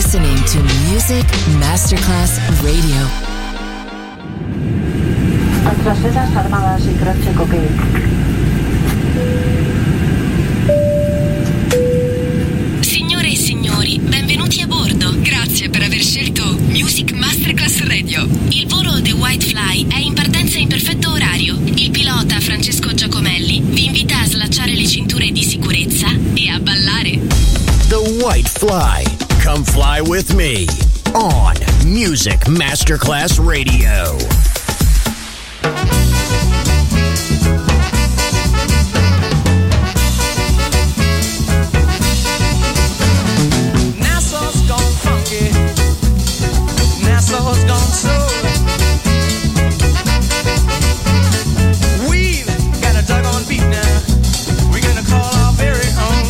listening to Music Masterclass Radio. Nuestras Fuerzas Armadas y Croce Coquet. Signore e signori, benvenuti a bordo. Grazie per aver scelto Music Masterclass Radio. Il volo The White Fly è in partenza in perfetto orario. Il pilota Francesco Giacomelli vi invita a slacciare le cinture di sicurezza e a ballare. The White Fly. Come fly with me on Music Masterclass Radio. Nassau's gone soul. We've got a doggone beat now. We're gonna call our very own.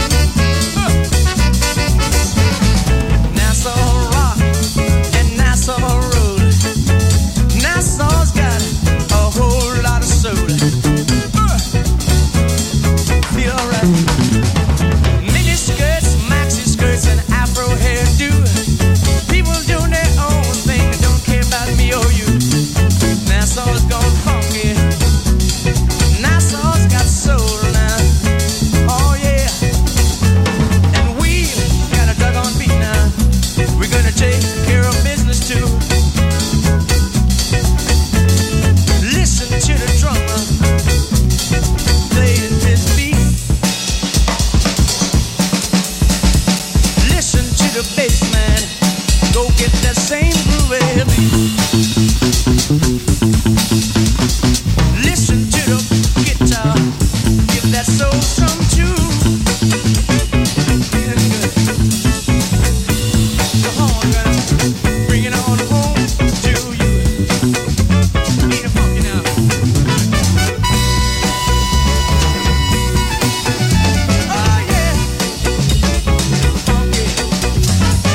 Nassau rock and Nassau roll. Nassau's got a whole lot of soul. Feel alright. Mini skirts, maxi skirts, and afro hairdo. People doing their own thing, don't care about me or you. Nassau's gone funky. Nassau's got soul now. Oh yeah. And we got a doggone beat now. We're gonna take care of business too. Listen to the drummer playing his beat. Listen to the bass man. Go get that same groove beat. Listen to the guitar. Give that soul some tune. Yeah, good. Come on, girl. Bring it on home to you. Ain't it funky now? Oh yeah. Funky.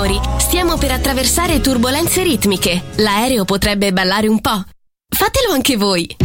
signori, stiamo per attraversare turbolenze ritmiche. L'aereo potrebbe ballare un po'. Fatelo anche voi.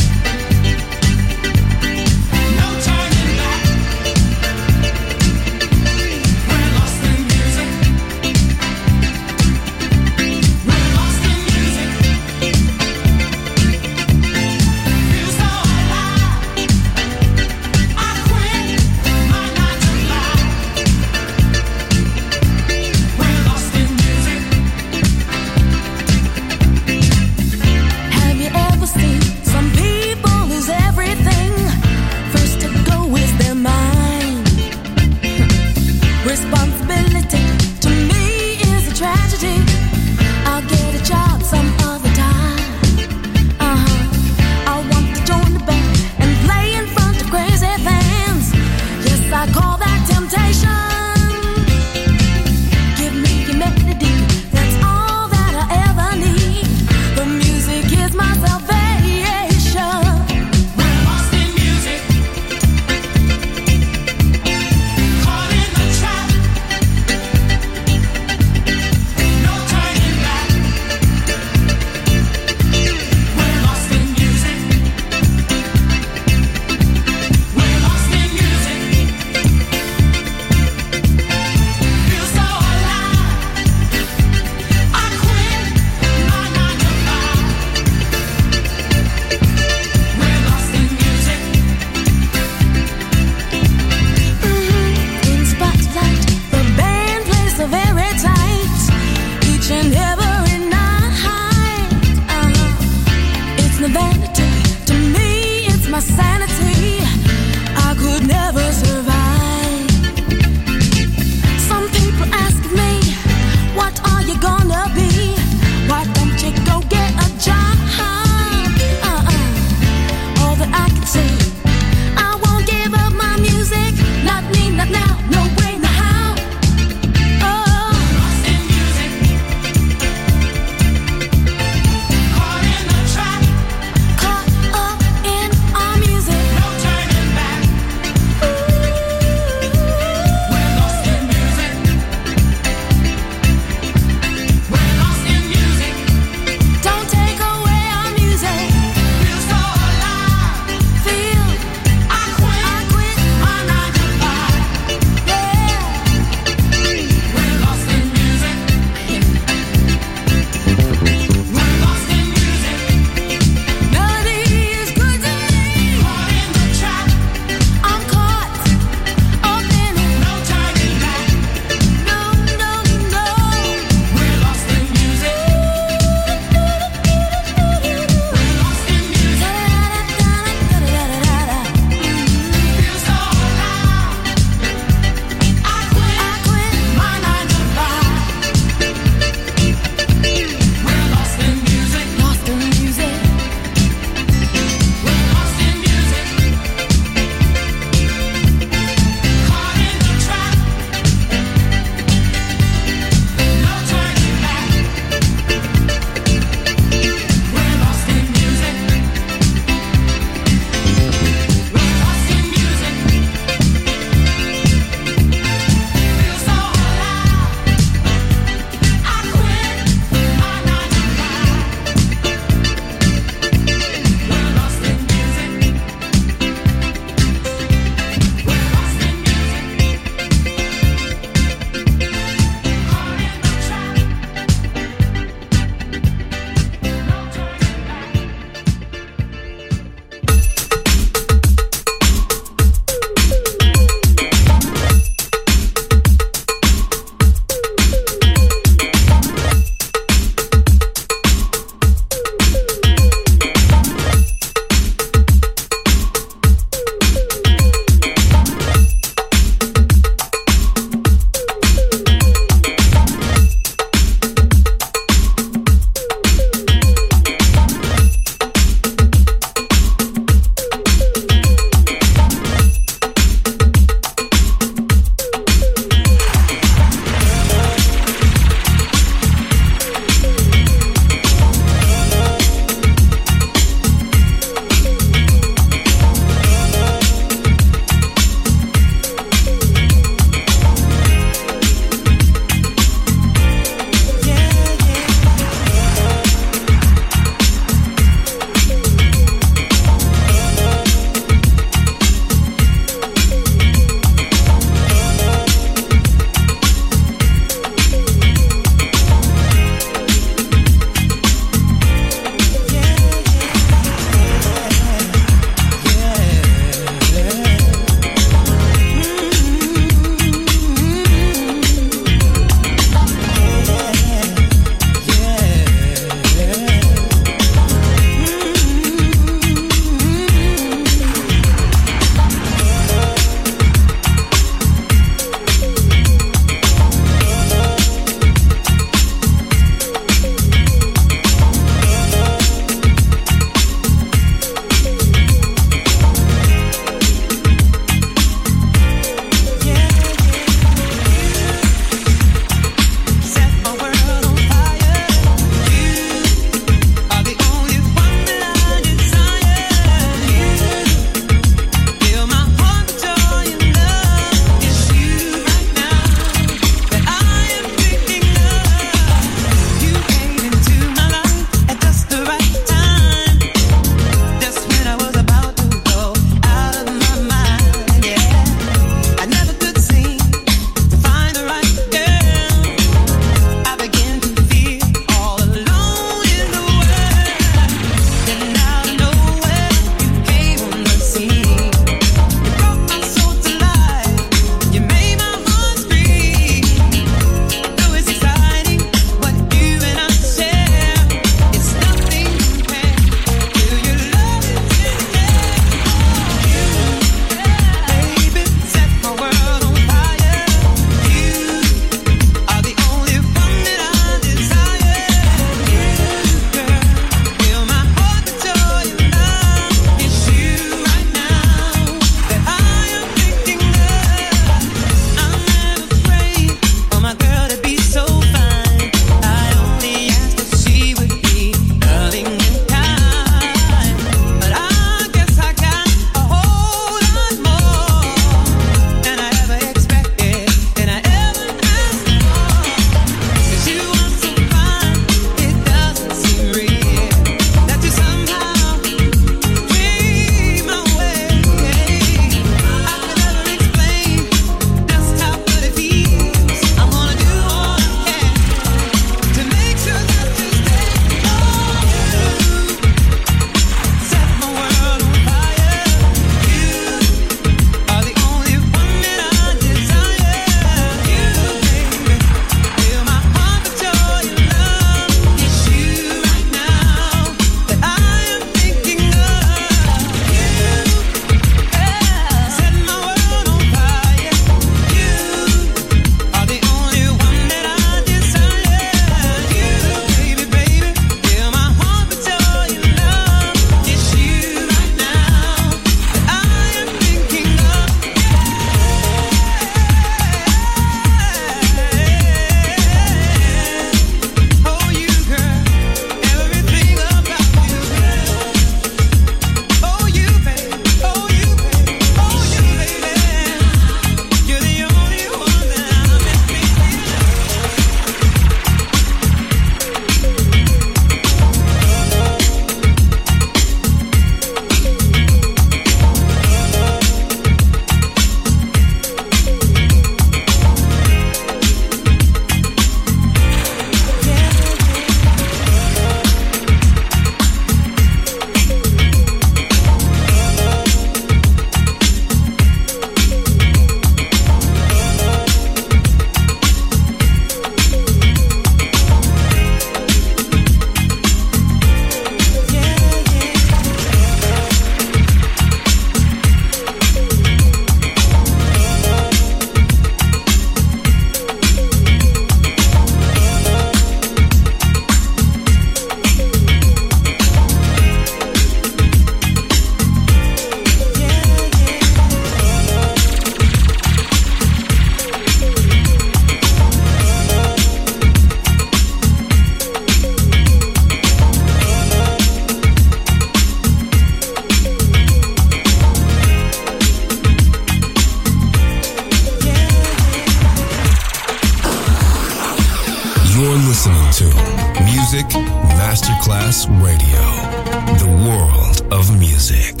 Masterclass Radio, the world of music.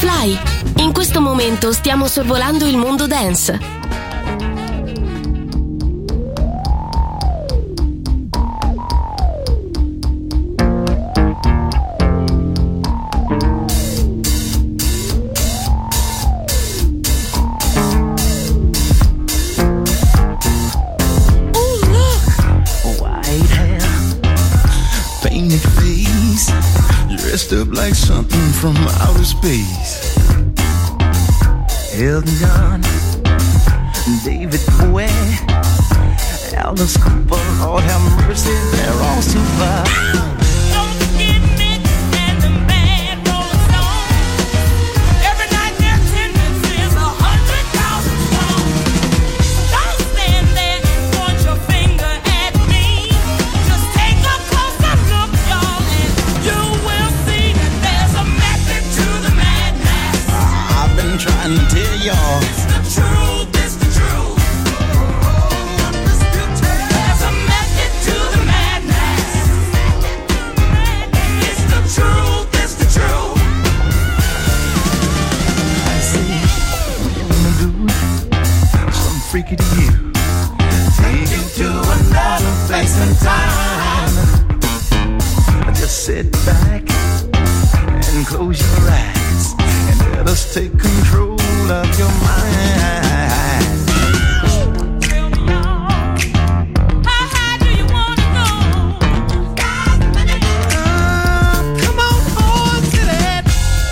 Fly. In questo momento stiamo sorvolando il mondo dance. Dressed up like something from outer space. Elton John, David Bowie, Alice Cooper, Lord have mercy, they're all super. Trying to tell y'all it's the truth, it's the truth. There's a method to the madness. It's the truth, it's the truth. I say, you wanna do some freaky to you. Take you to another place and time. Just sit back and close your eyes. Let us take control of your mind. Tell me how high do you wanna go? Come on to that.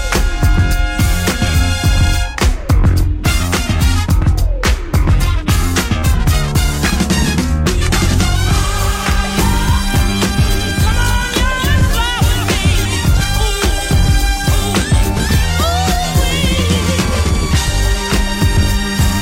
Come on, you fly with me. Ooh, ooh, ooh.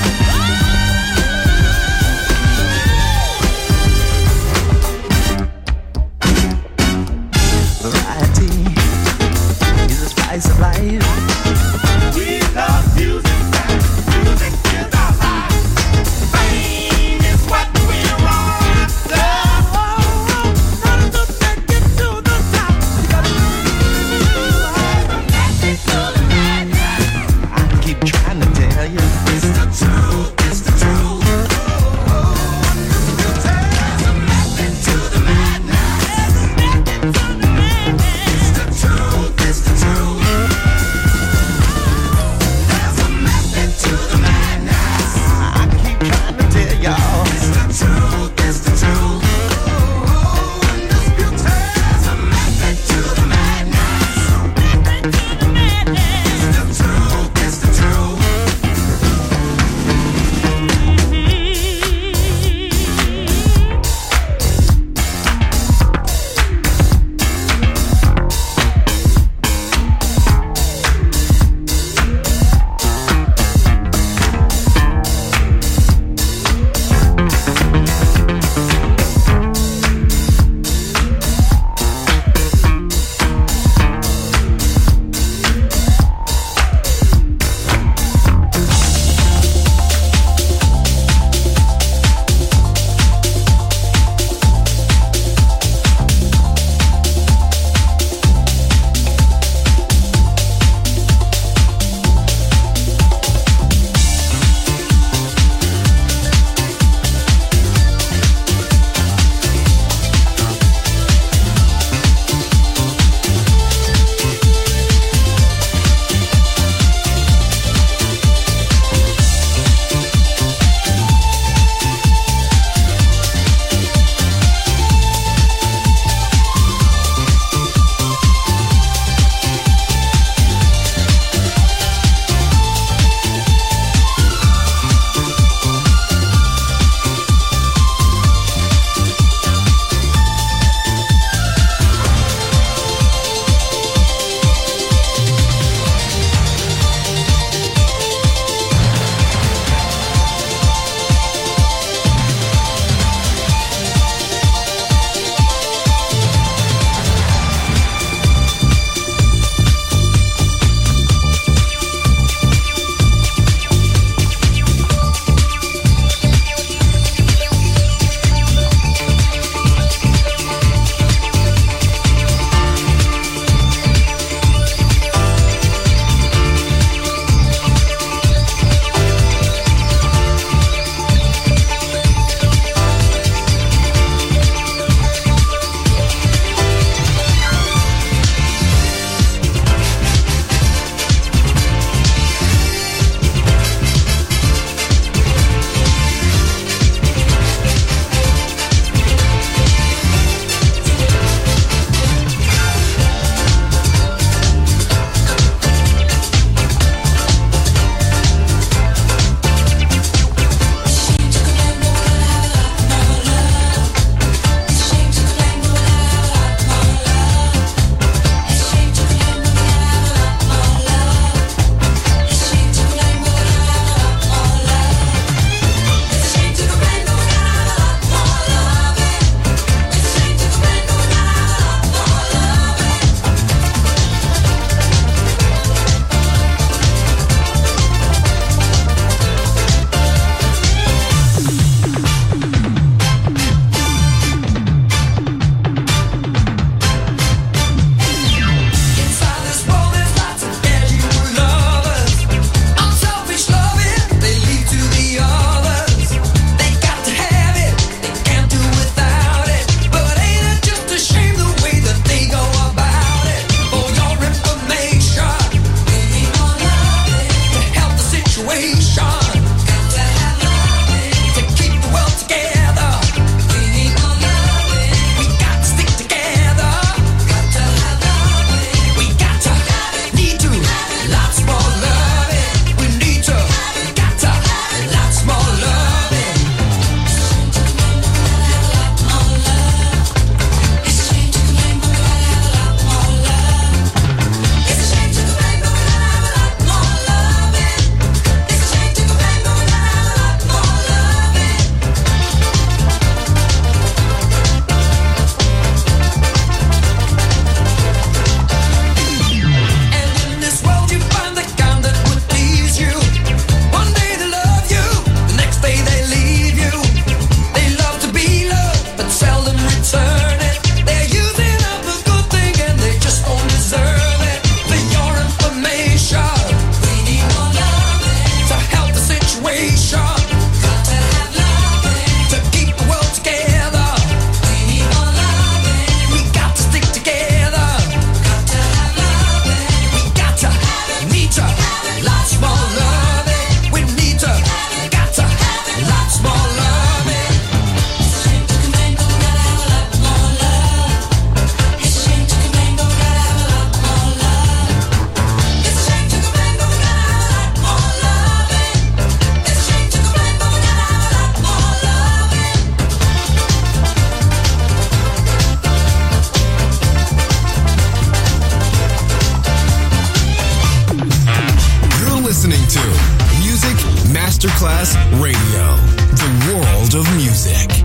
Masterclass Radio, the world of music.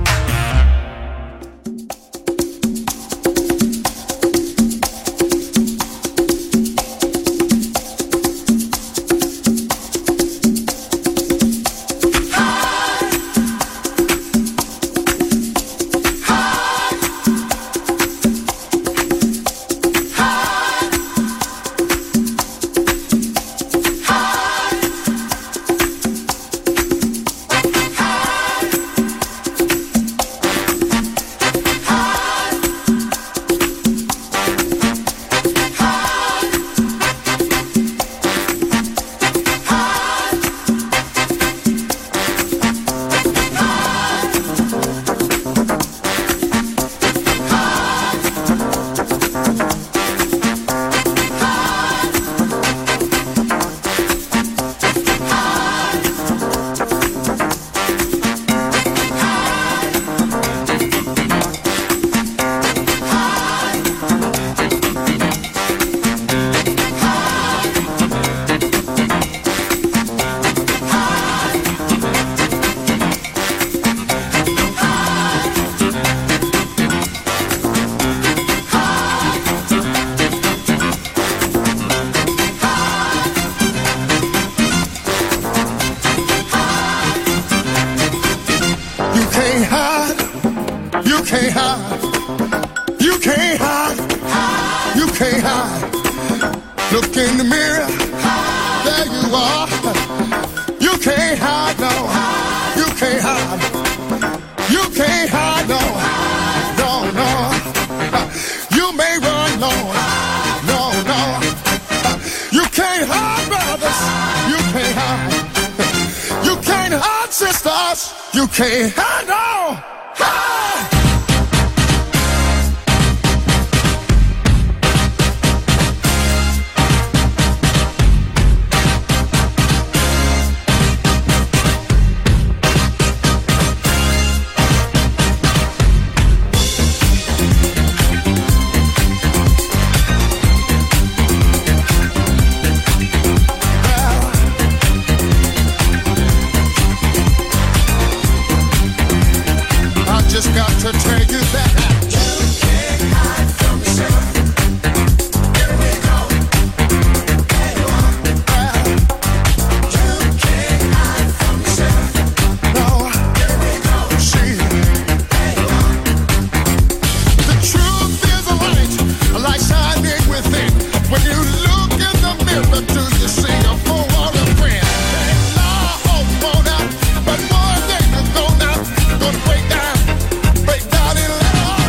Break down in love.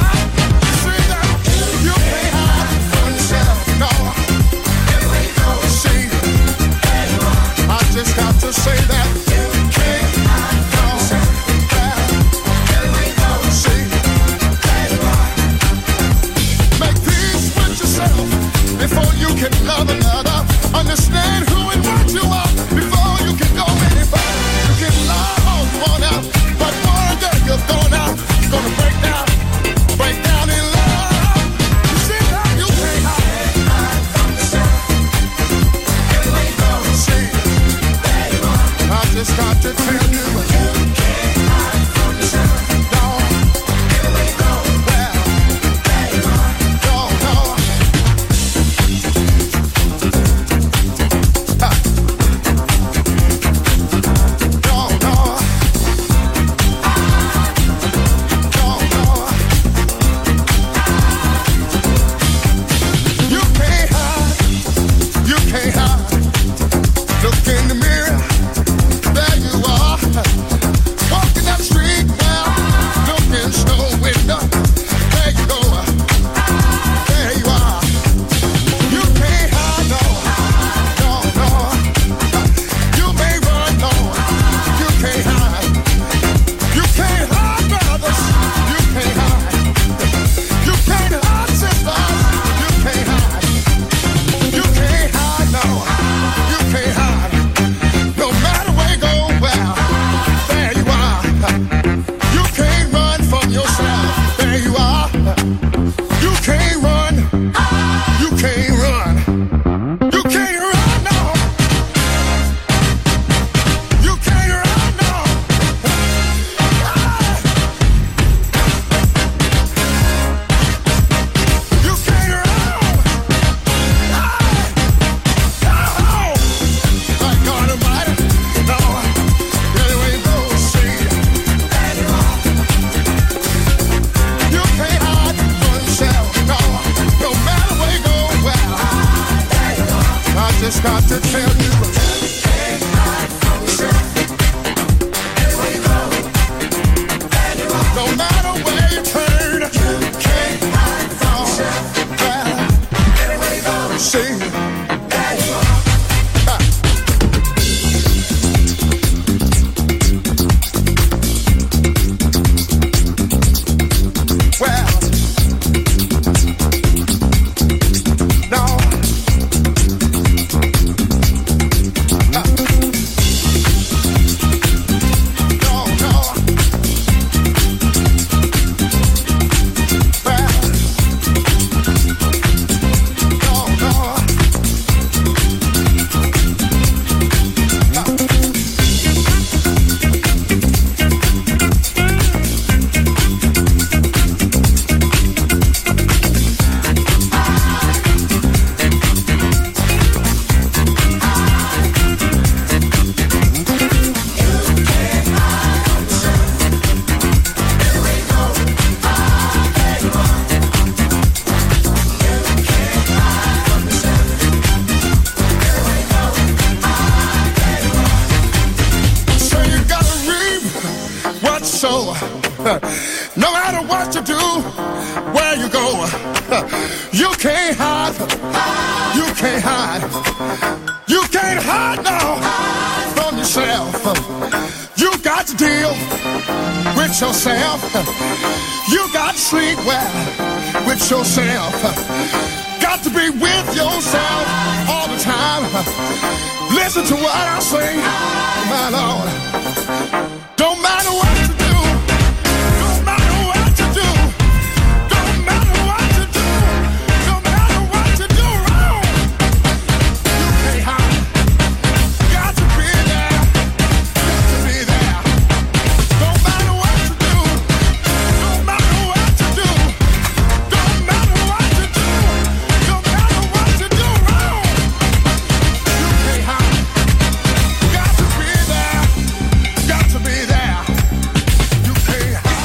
so. No matter what you do, where you go, you can't hide. You can't hide. You can't hide now from yourself. You got to deal with yourself. You got to sleep well with yourself. Got to be with yourself all the time. Listen to what I say, my Lord. Don't matter what you do. Don't matter what you do. Don't matter what you do. Don't matter what you do wrong. You can't hide. Got to be there. Got to be there. Don't matter what you do. Don't matter what you do. Don't matter what you do. Don't matter what you do wrong. You can't hide. Got to be there. Got to be there. You can't hide.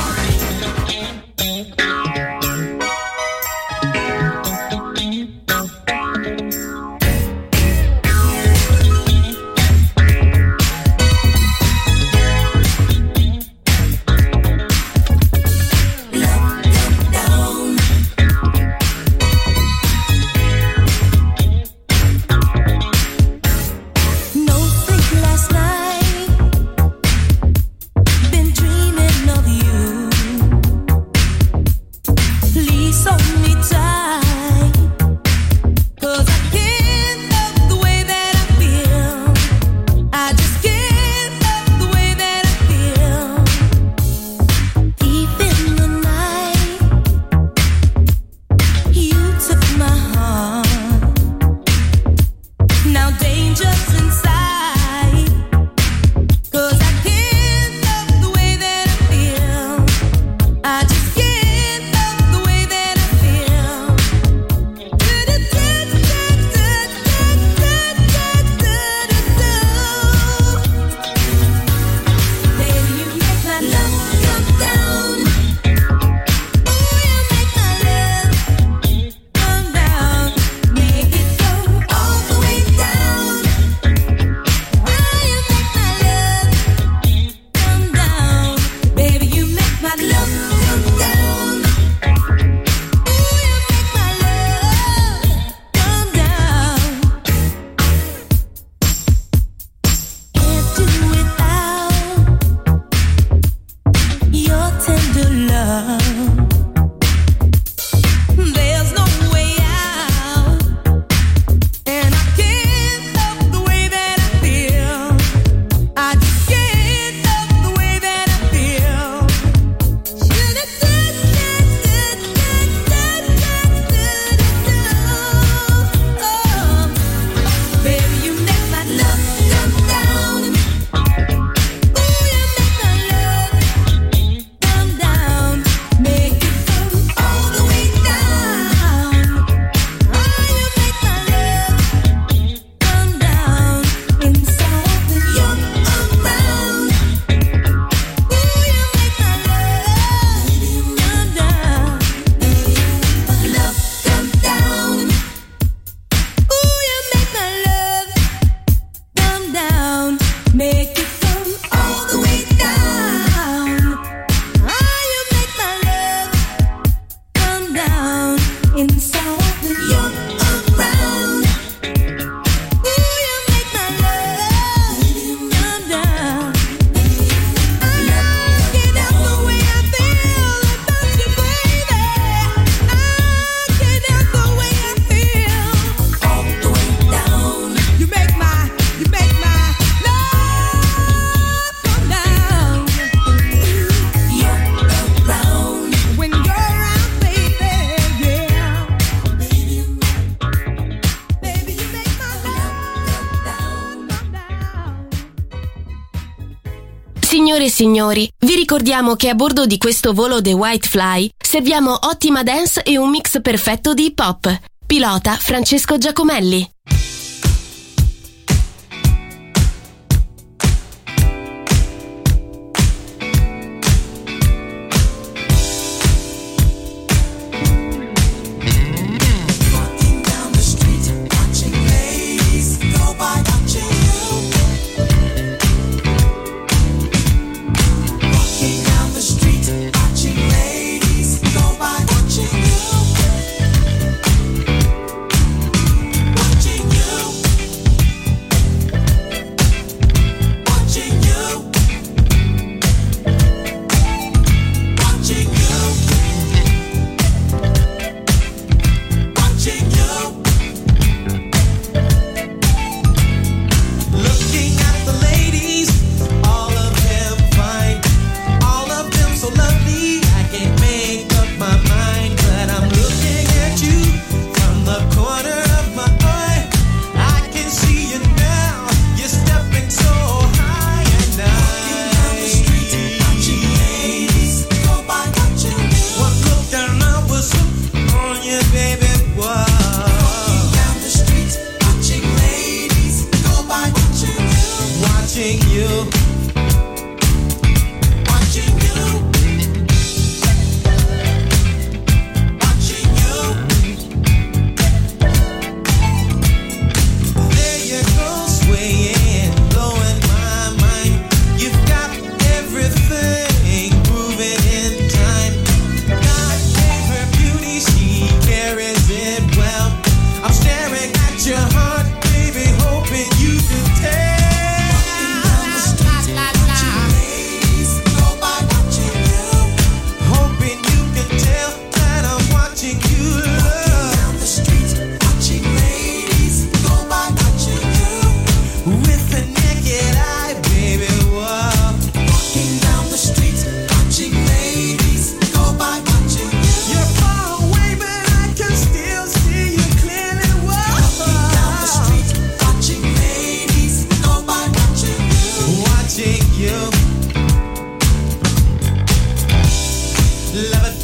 No sleep last night. Been dreaming of you. Please hold me tight. 'Cause I can't love the way that I feel. I just can't love the way that I feel. Deep in the night, you took my heart. Now danger's inside. 'Cause I can't love the way that I feel. I just can't love the way that I feel. Baby, you make my love come down. Ooh, you make my love come down. Make it go all the way down. Ooh, you make my love come down. Baby, you make my love come down. Ooh, you make my love come down. Can't do without your tender love. There's no way out, and I can't love the way that I feel. I just can't love the way that I feel. Baby, you make my love come down. Ooh, you make my love come down. Make it go all the way down. Oh, you make my love come down. Inside when you're around. Ooh, you make my love come down. My love come down. Ooh, you make my love come down. Make it come all the way down. Oh, you make my love come down. Inside when you're around. Ooh, you make my love come down. I can't help the way I feel about you, baby. I can't help the way I feel all the way down. You make my love come down. You're around when you're around, baby. Yeah, baby, you make my love come down. Signore e signori, vi ricordiamo che a bordo di questo volo The White Fly serviamo ottima dance e un mix perfetto di hip hop. Pilota Francesco Giacomelli. Walking down the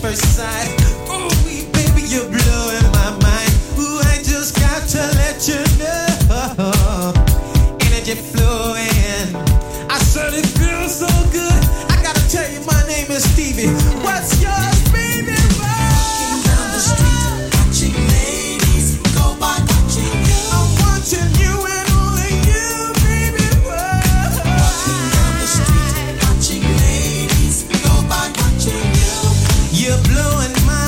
first sight. Ooh, baby, you're blowing my mind. Ooh, I just got to let you know. Energy flowing. I said it feels so good. I gotta tell you, my name is Stevie. What's yours, baby? Walking down the street, watching ladies go by, watching you. I'm watching you and only you, baby. Walking down the street, watching ladies go by, watching you. You're blowing my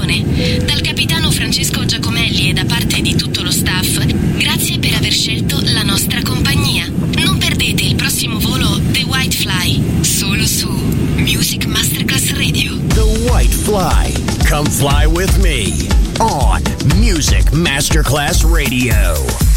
trasmissione. Dal capitano Francesco Giacomelli e da parte di tutto lo staff, grazie per aver scelto la nostra compagnia. Non perdete il prossimo volo The White Fly, solo su Music Masterclass Radio. The White Fly. Come fly with me on Music Masterclass Radio.